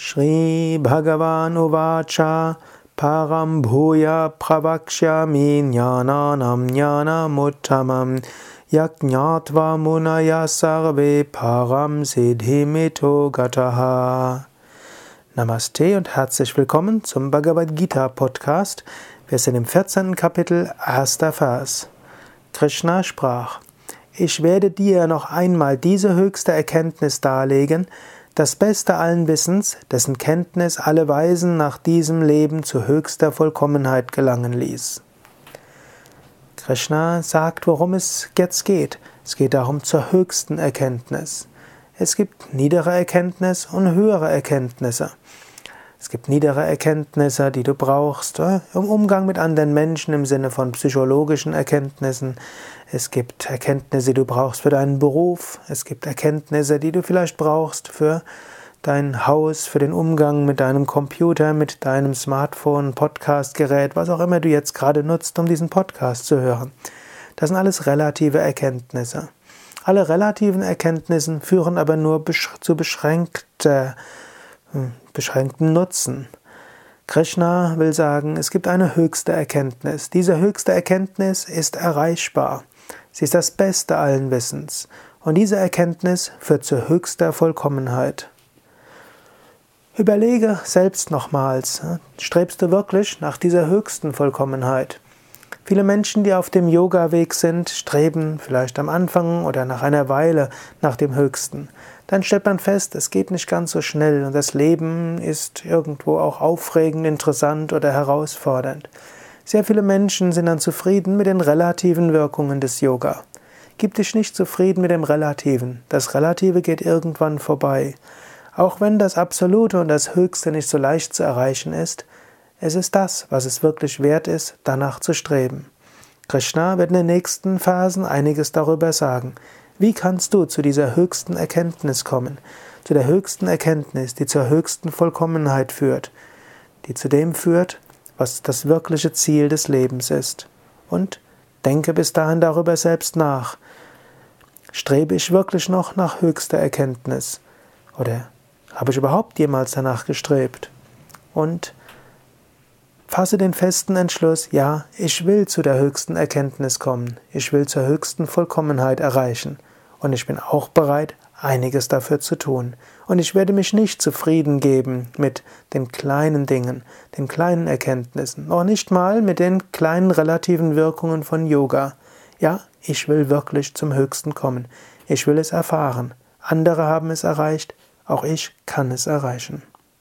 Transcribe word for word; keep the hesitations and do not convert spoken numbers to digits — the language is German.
Shri Bhagavan Uvacha Param Bhuya Pravakshyami Jnananam Jnanamuttamam Yajñātva Munaya Sarve Param Siddhimito Gataha. Namaste und herzlich willkommen zum Bhagavad Gita Podcast. Wir sind im vierzehnten Kapitel, erster Vers. Krishna sprach: Ich werde dir noch einmal diese höchste Erkenntnis darlegen, das Beste allen Wissens, dessen Kenntnis alle Weisen nach diesem Leben zu höchster Vollkommenheit gelangen ließ. Krishna sagt, worum es jetzt geht. Es geht darum zur höchsten Erkenntnis. Es gibt niedere Erkenntnis und höhere Erkenntnisse. Es gibt niedere Erkenntnisse, die du brauchst im Umgang mit anderen Menschen im Sinne von psychologischen Erkenntnissen. Es gibt Erkenntnisse, die du brauchst für deinen Beruf. Es gibt Erkenntnisse, die du vielleicht brauchst für dein Haus, für den Umgang mit deinem Computer, mit deinem Smartphone, Podcastgerät, was auch immer du jetzt gerade nutzt, um diesen Podcast zu hören. Das sind alles relative Erkenntnisse. Alle relativen Erkenntnisse führen aber nur zu beschränkter beschränkten Nutzen. Krishna will sagen, es gibt eine höchste Erkenntnis. Diese höchste Erkenntnis ist erreichbar. Sie ist das Beste allen Wissens. Und diese Erkenntnis führt zu höchster Vollkommenheit. Überlege selbst nochmals, strebst du wirklich nach dieser höchsten Vollkommenheit? Viele Menschen, die auf dem Yoga-Weg sind, streben vielleicht am Anfang oder nach einer Weile nach dem Höchsten. Dann stellt man fest, es geht nicht ganz so schnell und das Leben ist irgendwo auch aufregend, interessant oder herausfordernd. Sehr viele Menschen sind dann zufrieden mit den relativen Wirkungen des Yoga. Gib dich nicht zufrieden mit dem Relativen. Das Relative geht irgendwann vorbei. Auch wenn das Absolute und das Höchste nicht so leicht zu erreichen ist, es ist das, was es wirklich wert ist, danach zu streben. Krishna wird in den nächsten Phasen einiges darüber sagen. Wie kannst du zu dieser höchsten Erkenntnis kommen? Zu der höchsten Erkenntnis, die zur höchsten Vollkommenheit führt, die zu dem führt, was das wirkliche Ziel des Lebens ist. Und denke bis dahin darüber selbst nach. Strebe ich wirklich noch nach höchster Erkenntnis? Oder habe ich überhaupt jemals danach gestrebt? Und fasse den festen Entschluss, ja, ich will zu der höchsten Erkenntnis kommen. Ich will zur höchsten Vollkommenheit erreichen. Und ich bin auch bereit, einiges dafür zu tun. Und ich werde mich nicht zufrieden geben mit den kleinen Dingen, den kleinen Erkenntnissen, noch nicht mal mit den kleinen relativen Wirkungen von Yoga. Ja, ich will wirklich zum Höchsten kommen. Ich will es erfahren. Andere haben es erreicht, auch ich kann es erreichen.